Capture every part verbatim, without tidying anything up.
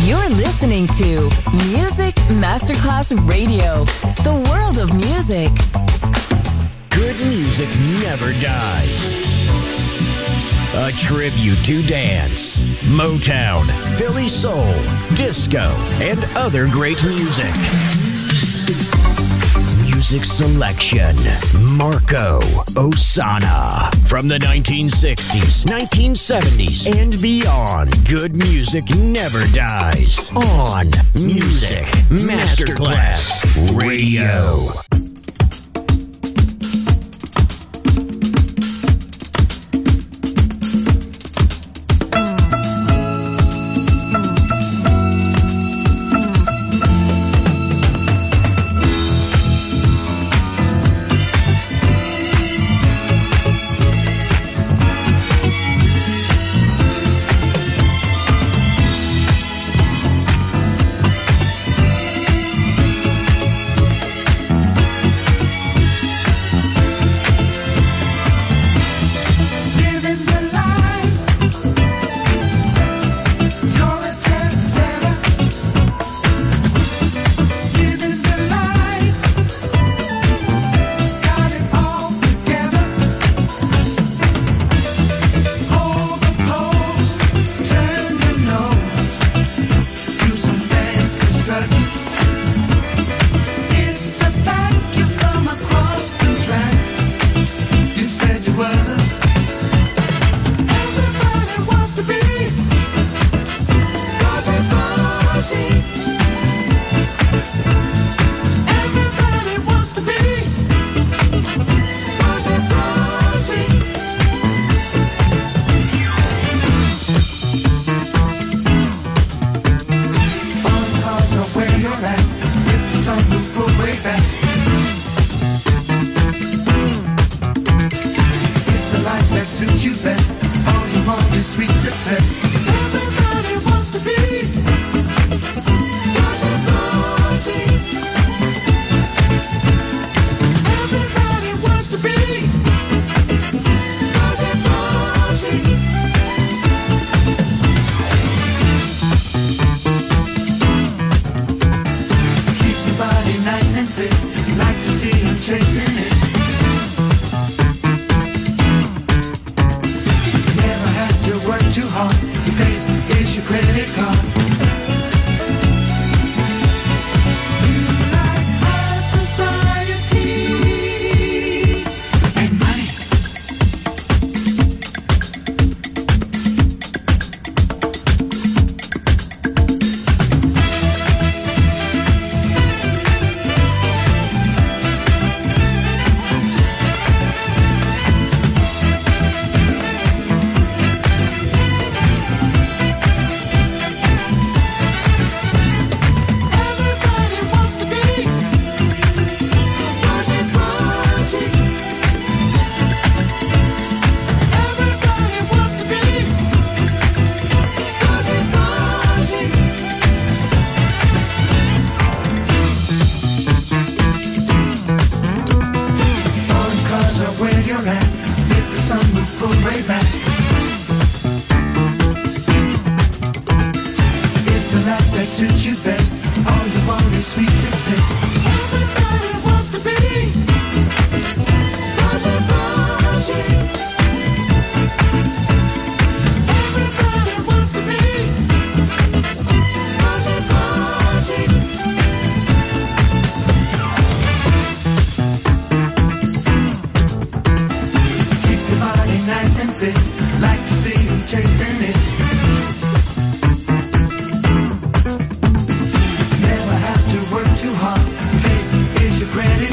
You're listening to Music Masterclass Radio, the world of music. Good music never dies. A tribute to dance, Motown, Philly soul, disco, and other great music. Music selection, Marco Ossanna. From the nineteen sixties, nineteen seventies, and beyond, good music never dies. On Music Masterclass Radio.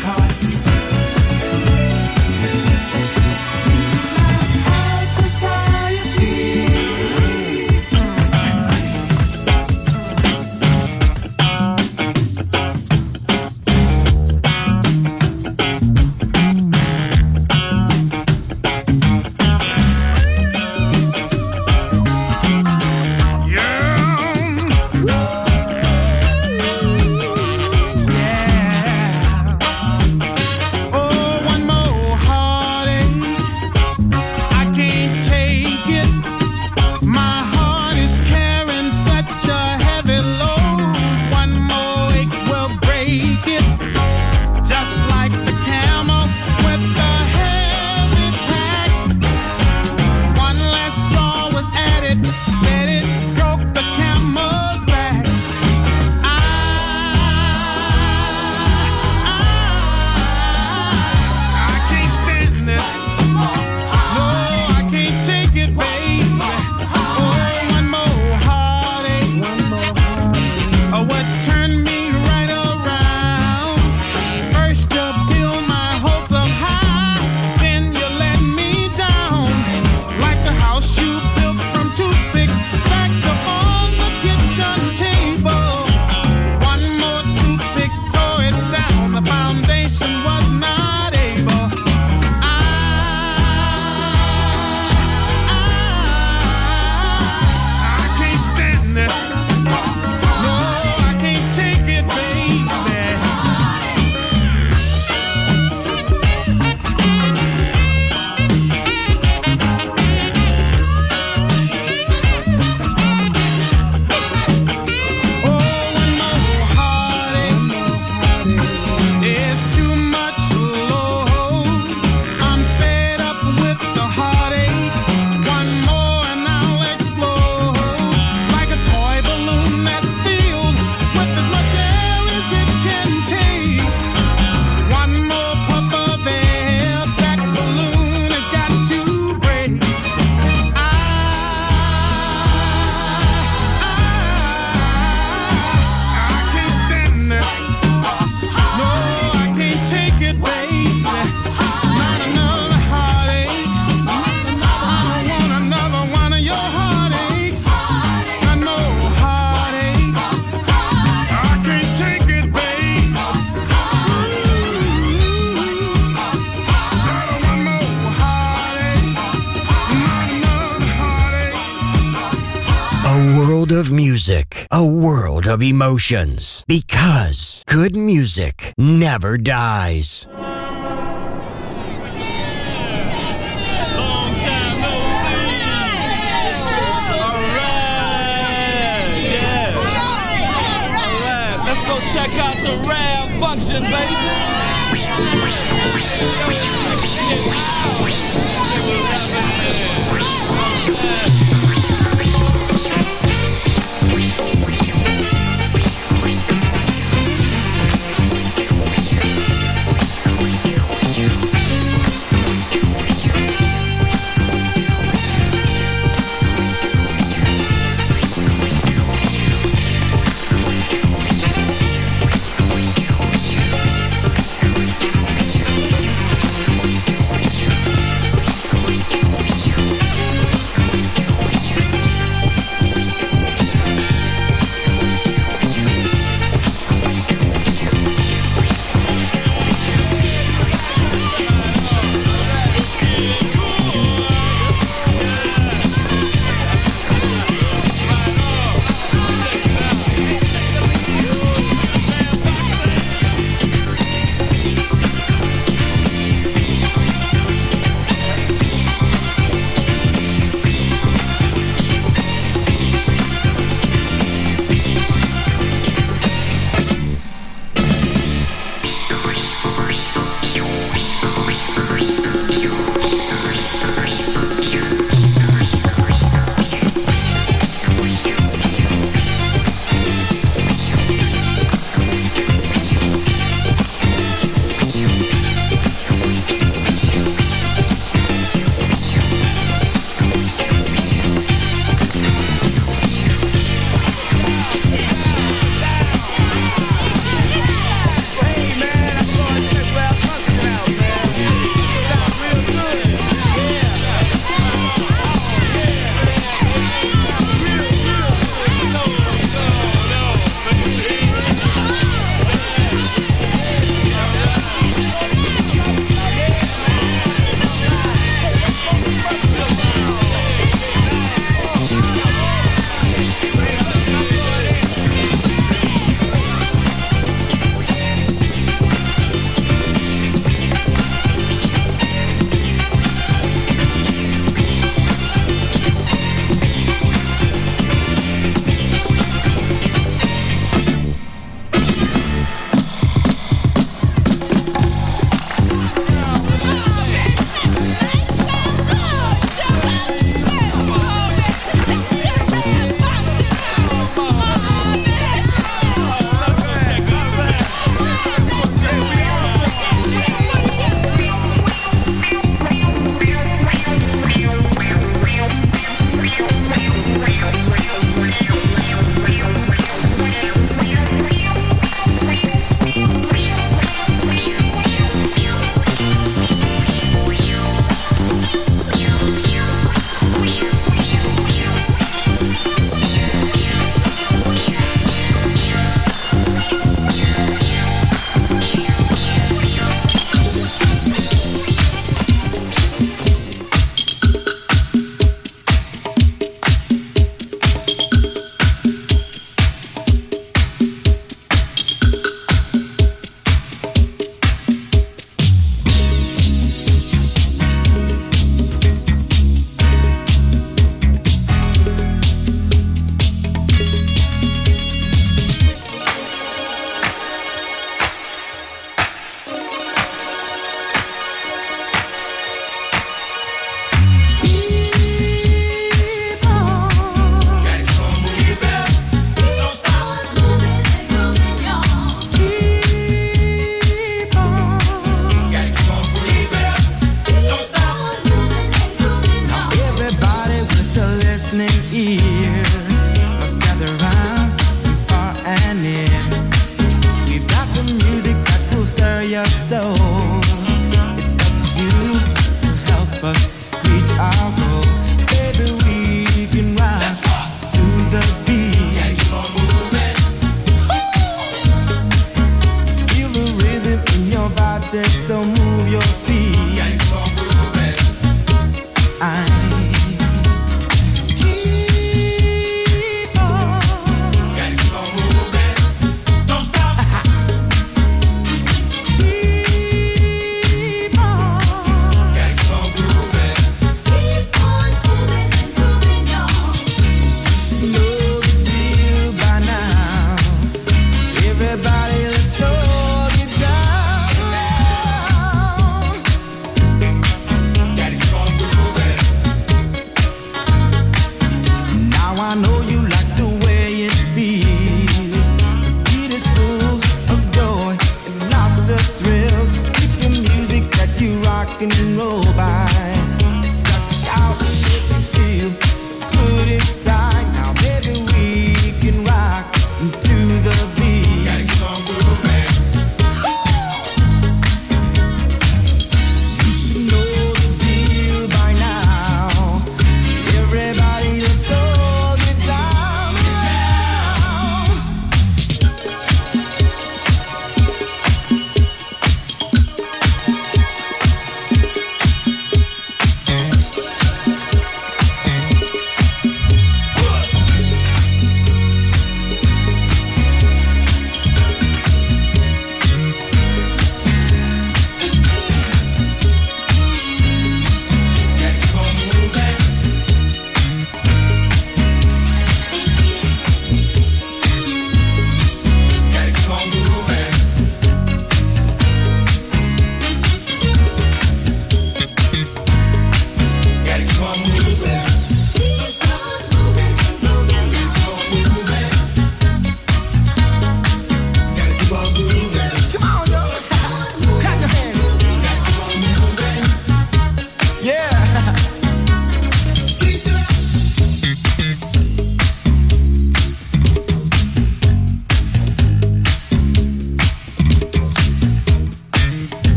Society A world of music, a world of emotions, because good music never dies. Check out some rare function, baby.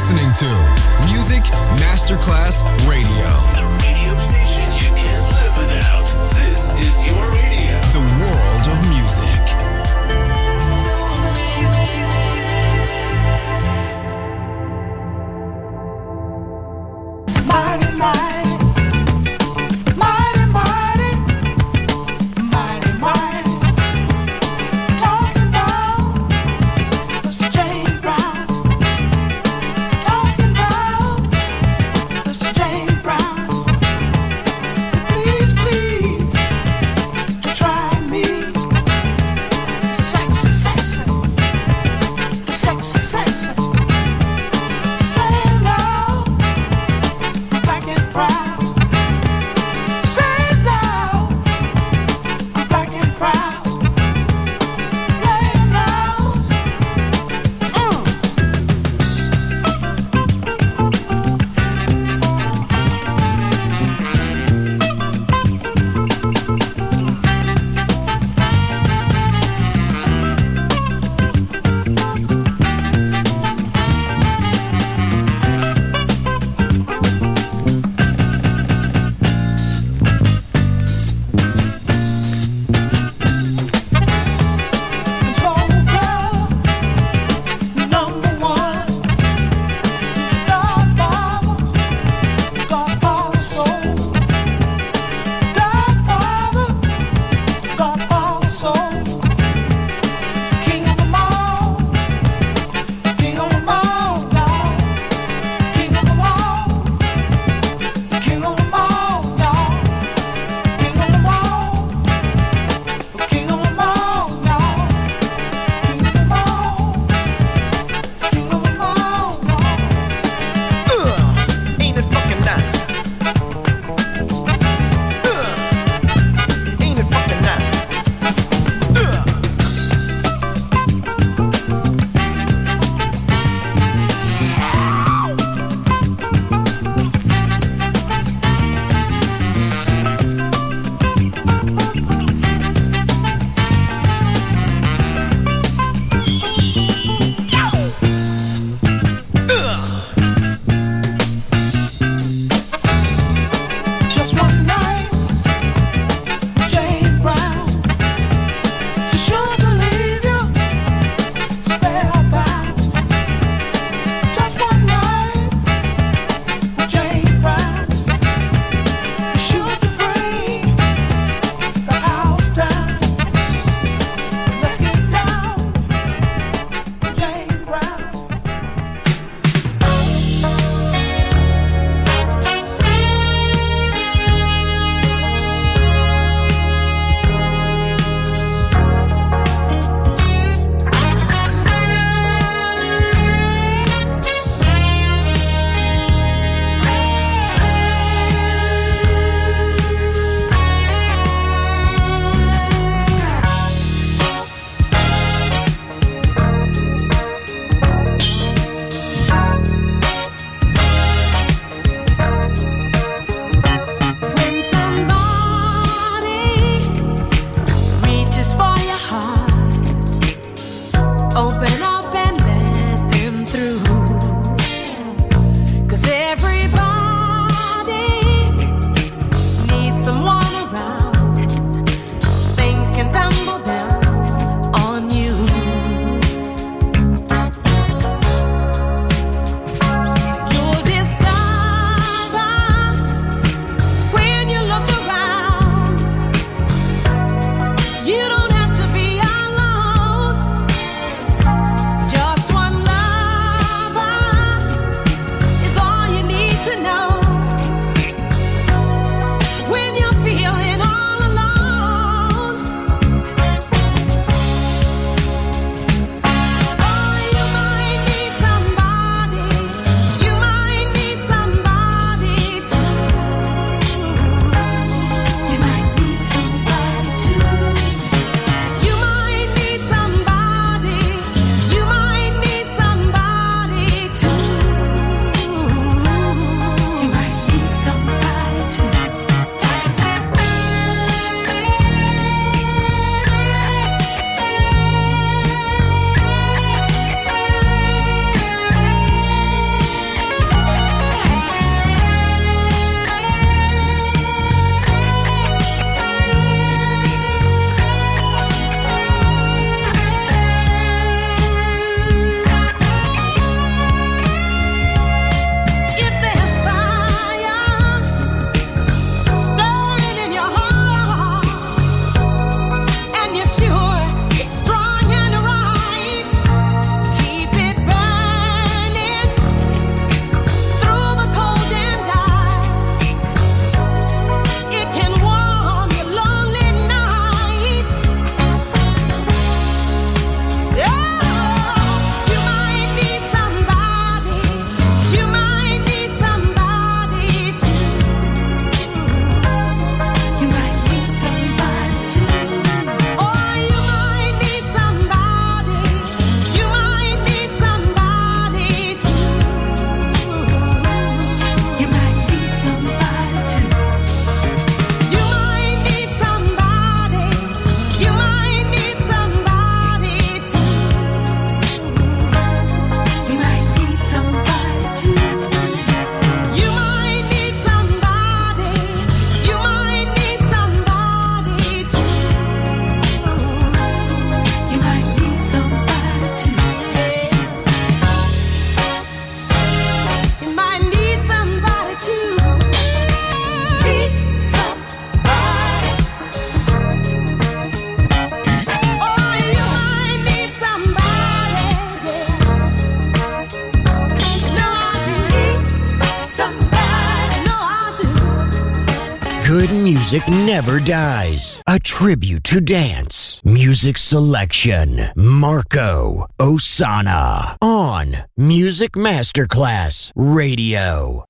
listening to Music Masterclass Radio. The radio station you can't live without. This is your radio. The world of music. Mighty, mighty, mighty, mighty, mighty, mighty. Talking about Mister James Brown. Talking about Mister James Brown. Please, please, to try me. music never dies. A tribute to dance. Music selection. Marco Ossanna. On Music Masterclass Radio.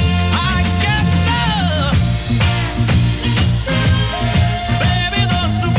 Baby, the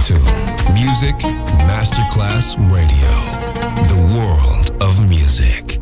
to Music Masterclass Radio, the world of music.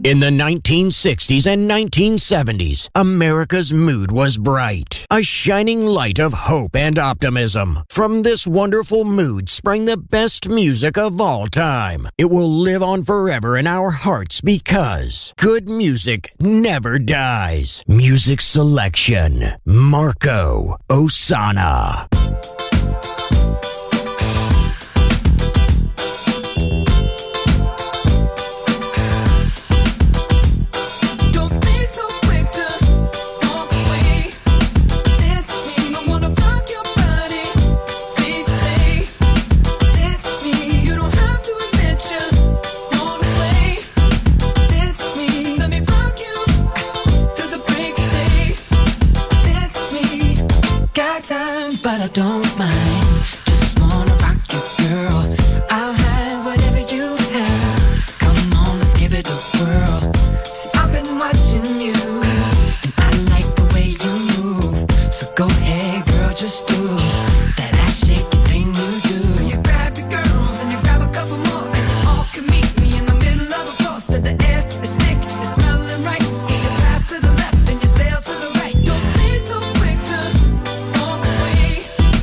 In the nineteen sixties and nineteen seventies, America's mood was bright, a shining light of hope and optimism. From this wonderful mood sprang the best music of all time. It will live on forever in our hearts because good music never dies. Music selection, Marco Ossanna. But I don't mind, just wanna rock you, girl. I'll have whatever you have. Come on, let's give it a whirl. See, I've been watching you, and I like the way you move. So go ahead, girl, just do that ass shaking thing you do. So you grab your girls and you grab a couple more, and you all can meet me in the middle of the floor. So the air is thick, it's smelling right. So you pass to the left and you sail to the right. Don't be so quick to walk away.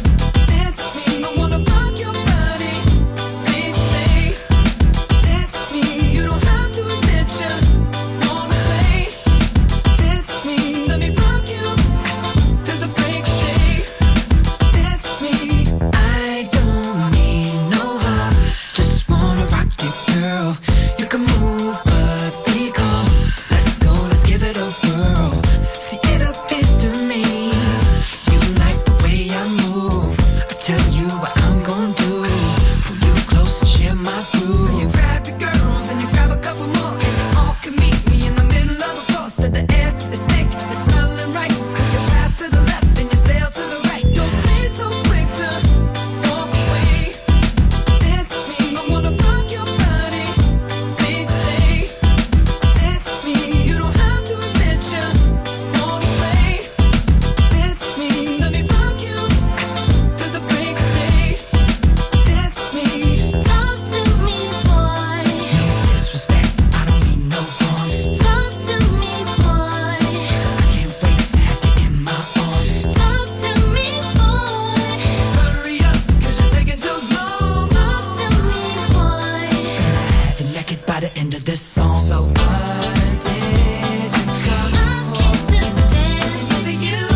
I wanna rock your body, please stay. Dance with me, you don't have to admit you wanna play. Dance with me, let me rock you till the break of day. Dance with me, I don't need no help, just wanna rock you, girl. You can move, but be calm. Let's go, let's give it a whirl. See, it appears to me you like the way I move. I tell you what I'm gonna do. Pull you close and share my groove. So you grab your girls and you grab a couple more, and you all can meet me in the middle of the floor. So the air is thick, it's smelling right. So you pass to the left and you sail to the right. Don't be so quick to walk away. Dance with me, I wanna rock your body, please stay. Dance with me, you don't have to admit you wanna play. Dance with me, let me rock you till the break of day. Dance with me. Talk to me, boy. No disrespect, I don't mean no harm. Talk to me, boy. I can't wait to have you in my arms. Talk to me, boy. Hurry up, cause you're taking too long. Talk to me, boy. Have you naked by the end of this song. So what did you come I came to dance with you.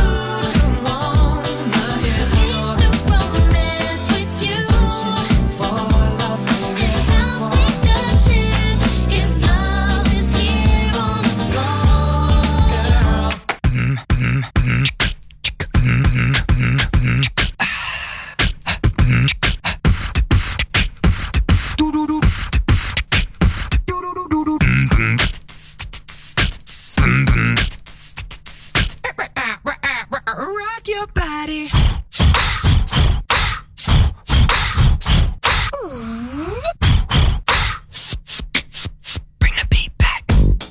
wanna hear? Came to romance with you. For love, And don't take a chance if love is here on the floor. rock your body. Bring the beat back.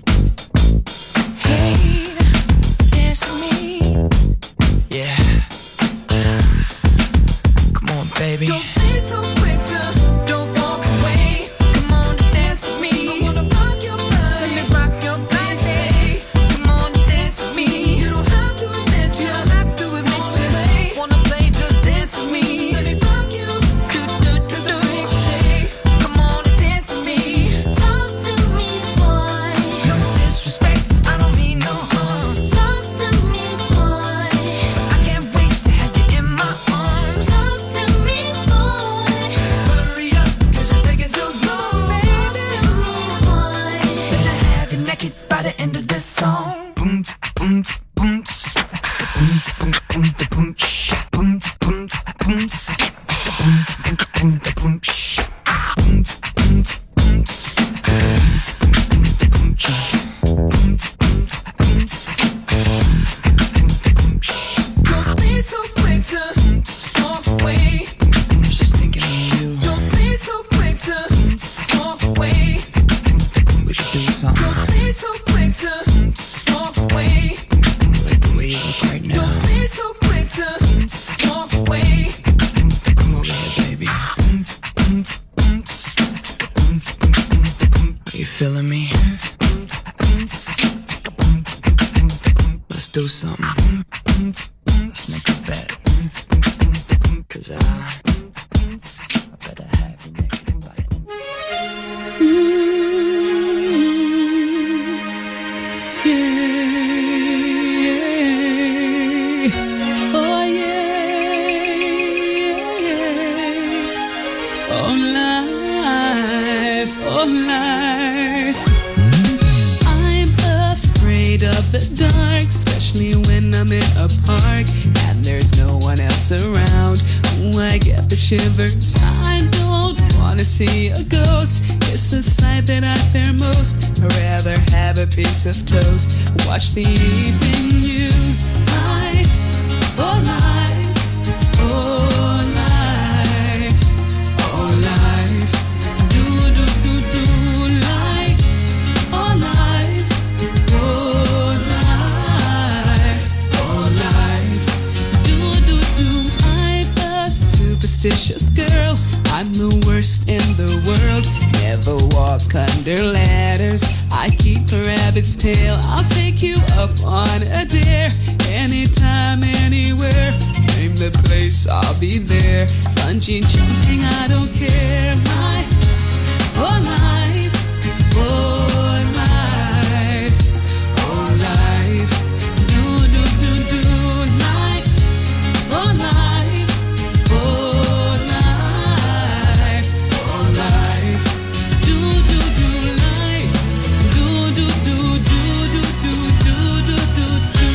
Hey, dance with me. Yeah. Come on, baby. Don't be so quick to don't walk away. Come on, dance with me. I wanna rock your body. Let me rock your body. Come on, dance with me. You don't have to admit you don't have to admit you wanna play. Just dance with me. Let me rock you. Do do do do. Come on and dance with me. Talk to me, boy. No disrespect, I don't mean no harm. Talk to me, boy. I can't wait to have you in my arms. Talk to me, boy. Hurry up, cause you're taking too long. Talk to me, boy. Better have you naked by the end of this song. Boom, boom, boom, boom, boom, boom, boom, boom, boom, boom, boom, boom, Don't be so quick to walk away. I was just thinking of you. Don't be so quick to walk away. We should do something. Don't be so quick to Are you feeling me? Let's do something. Let's make a bet. Cause I, I better have you naked by it. Yeah. Oh yeah. Oh life. Oh life. I'm afraid of the dark, especially when I'm in a park and there's no one else around. Ooh, I get the shivers. I don't wanna see a ghost. It's the sight that I fear most. I'd rather have a piece of toast, watch the evening news. Life, oh life, oh life, oh life. Do do do do life, oh life, oh life, oh life. Do do do. I'm a superstitious girl. I'm the worst in the world. Never walk under ladders. I keep a rabbit's tail. I'll take you up on a dare. Anytime, anywhere. Name the place, I'll be there. Bungee jumping, I don't care. Life, oh life, oh life, oh life. Do do do do life, oh life, oh life, oh life. Do do do life, do do do do do do do do do do.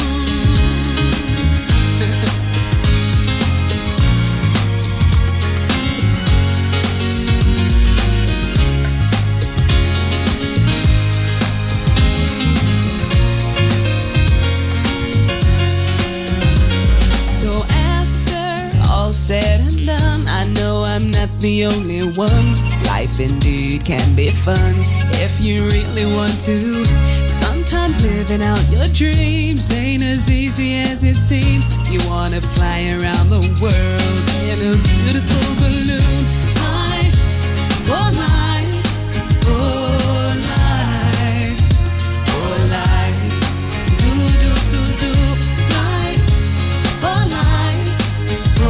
So after all said and done, I know I'm not the only one. Life indeed can be fun if you really want to. Sometimes living out your dreams ain't as easy as it seems. You wanna fly around the world in a beautiful balloon. Life, oh life, oh life, oh life. Do do do do life, oh life, oh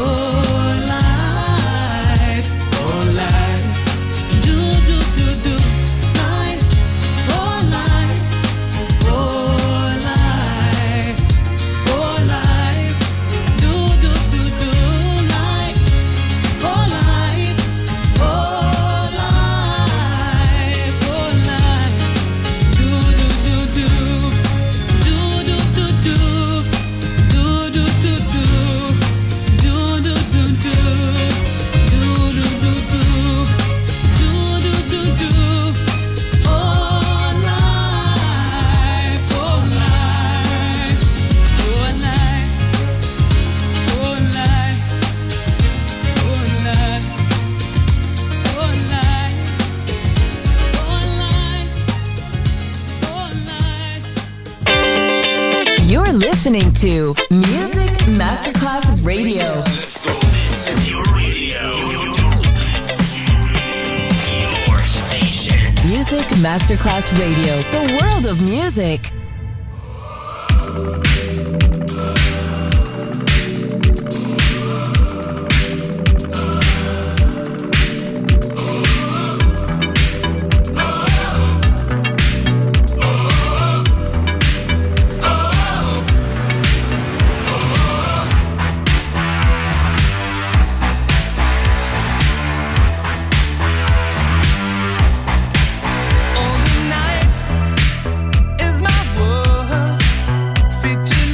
life, oh life. Do do do do life, oh life, oh life, oh life. Do do do do life, oh life, oh life, oh life. Do do do do, do do do do, do do do do, do do do do, do do do do. Do do do do, oh life, oh life, oh life, oh life, oh life, oh life, oh life, oh life. You're listening to Music Masterclass Radio. Let's go. This is your radio. Your station. Music Masterclass Radio. The world of music. On the night is my world. Sit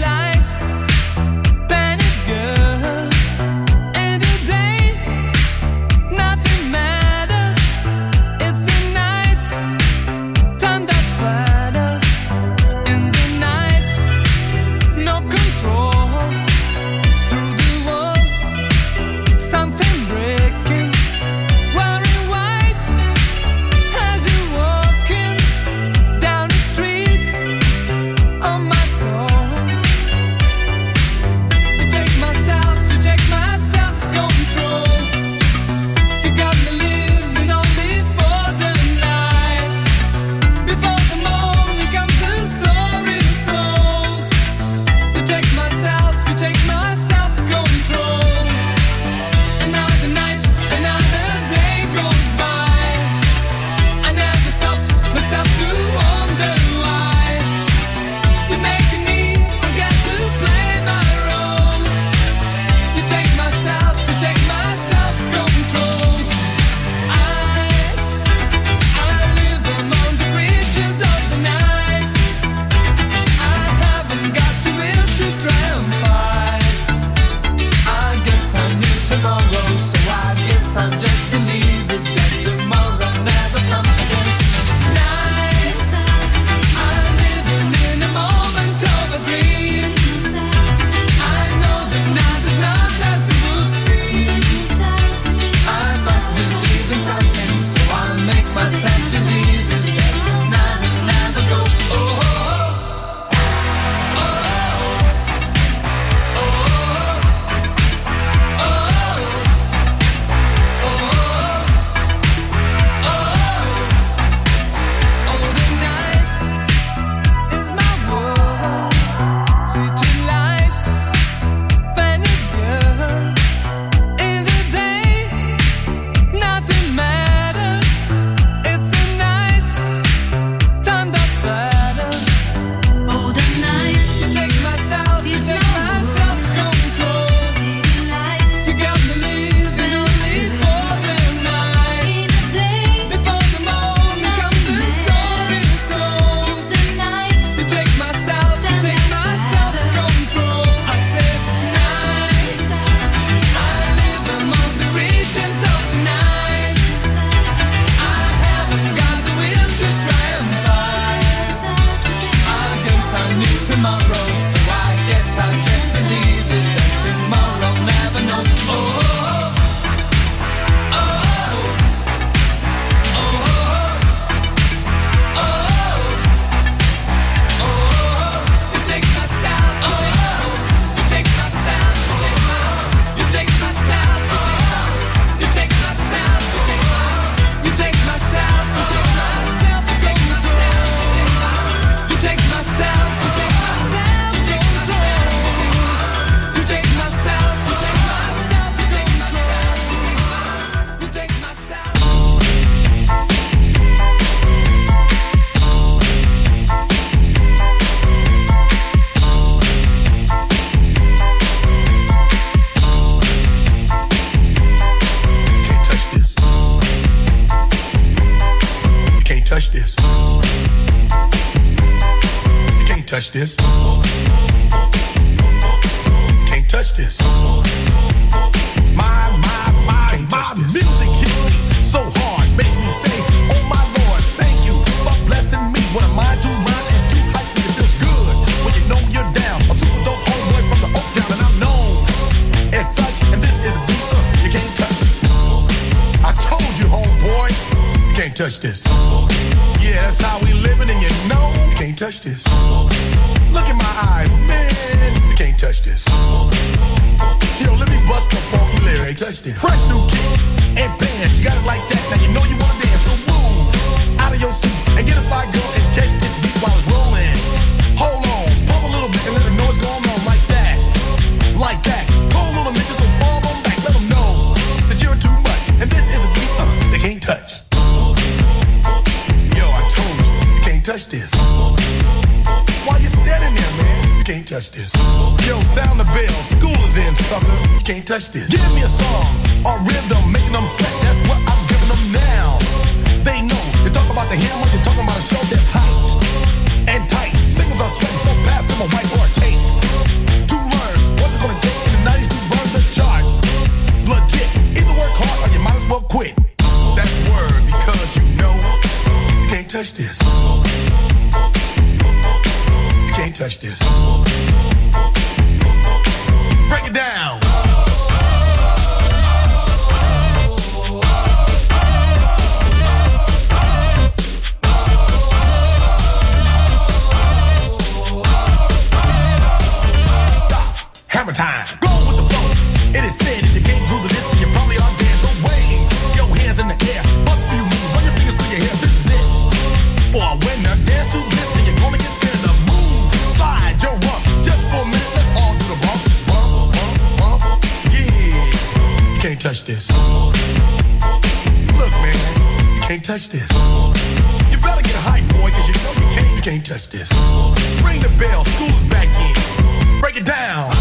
touch this. You can't touch this. You can't touch this. My, my, my, my music hits me so hard, makes me say, oh my Lord, thank you for blessing me. When I'm mind to rhyme and do hype, it feels good when you know you're down. A super dope homeboy from the Oak Town, and I'm known as such. And this is a beat uh, you can't touch. I told you, homeboy, you can't touch this. Yeah, that's how we living, and you know you can't touch this. Look in my eyes, man, you can't touch this. Yo, let me bust the funky lyrics. Touch this. Fresh new kicks and bands, you got it like that. Now you know you wanna dance, so move out of your seat and get a fly girl and catch this beat while it's rolling. Hold on, pump a little bit and let them know what's going on like that, like that. Pull a little bitches and fall on back, let them know that you're too much. And this is a beat uh, they can't touch. Yo, I told you, you can't touch this. Why you standing there, man? You can't touch this. Yo, sound the bell, school is in, sucker. You can't touch this. Give me a song or rhythm, making them sweat. That's what I'm giving them now. They know. You talk about the hammer, you're talking about a show that's hyped and tight. Singles are sweating so fast, them a whiteboard tape. To learn what's it gonna take in the nineties to run the charts. Legit. Either work hard or you might as well quit. That's word because you know you can't touch this. You can't touch this. Break it down. Stop. Hammer time. Go with the flow. It is said if you can't do the list, then you probably are dead. So wave your hands in the air. Bust a few moves. Run your fingers through your hair. This is it. For a winner, dance to this, then you're gonna get there. The move. Slide your rump. Just for a minute, let's all do the bump. Bump, bump, bump. Yeah. You can't touch this. Look, man. You can't touch this. You better get hype, boy, cause you know you can't, you can't touch this. Ring the bell. School's back in. Break it down.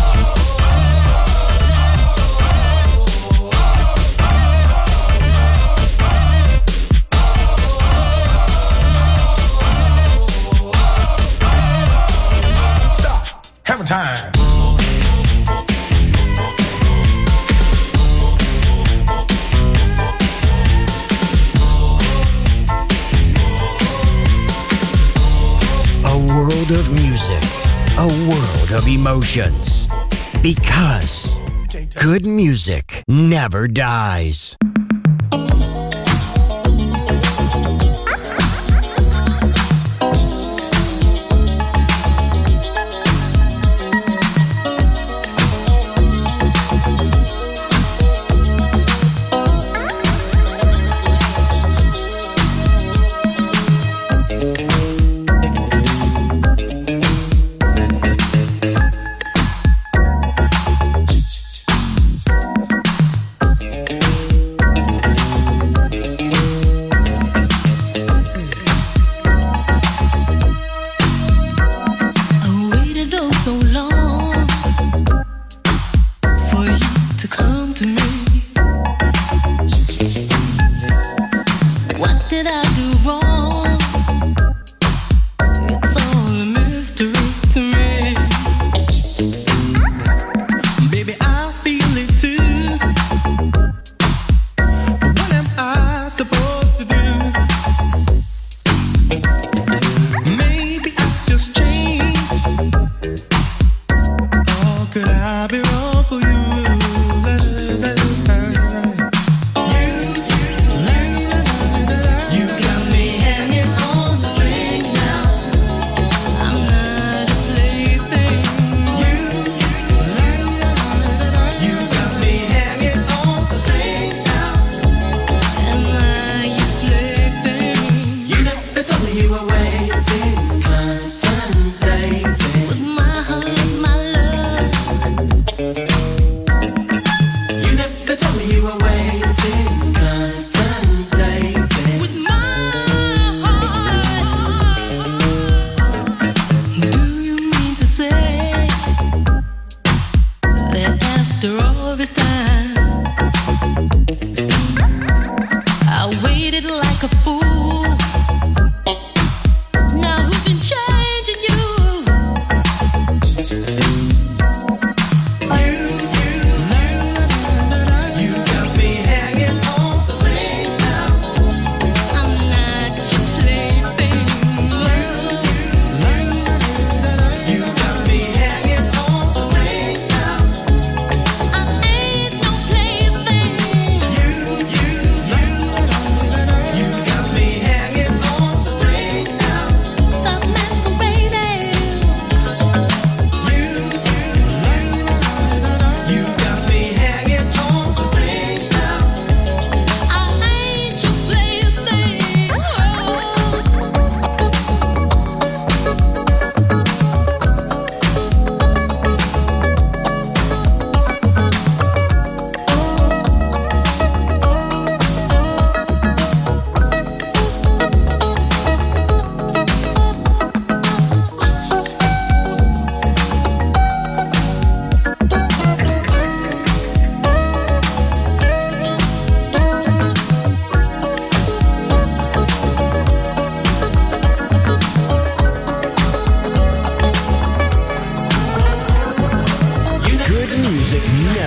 Hammer time. A world of music, a world of emotions. Because good music never dies. You got me hanging.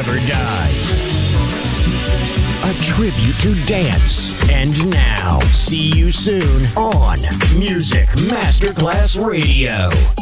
never dies. A tribute to dance. And now, see you soon on Music Masterclass Radio.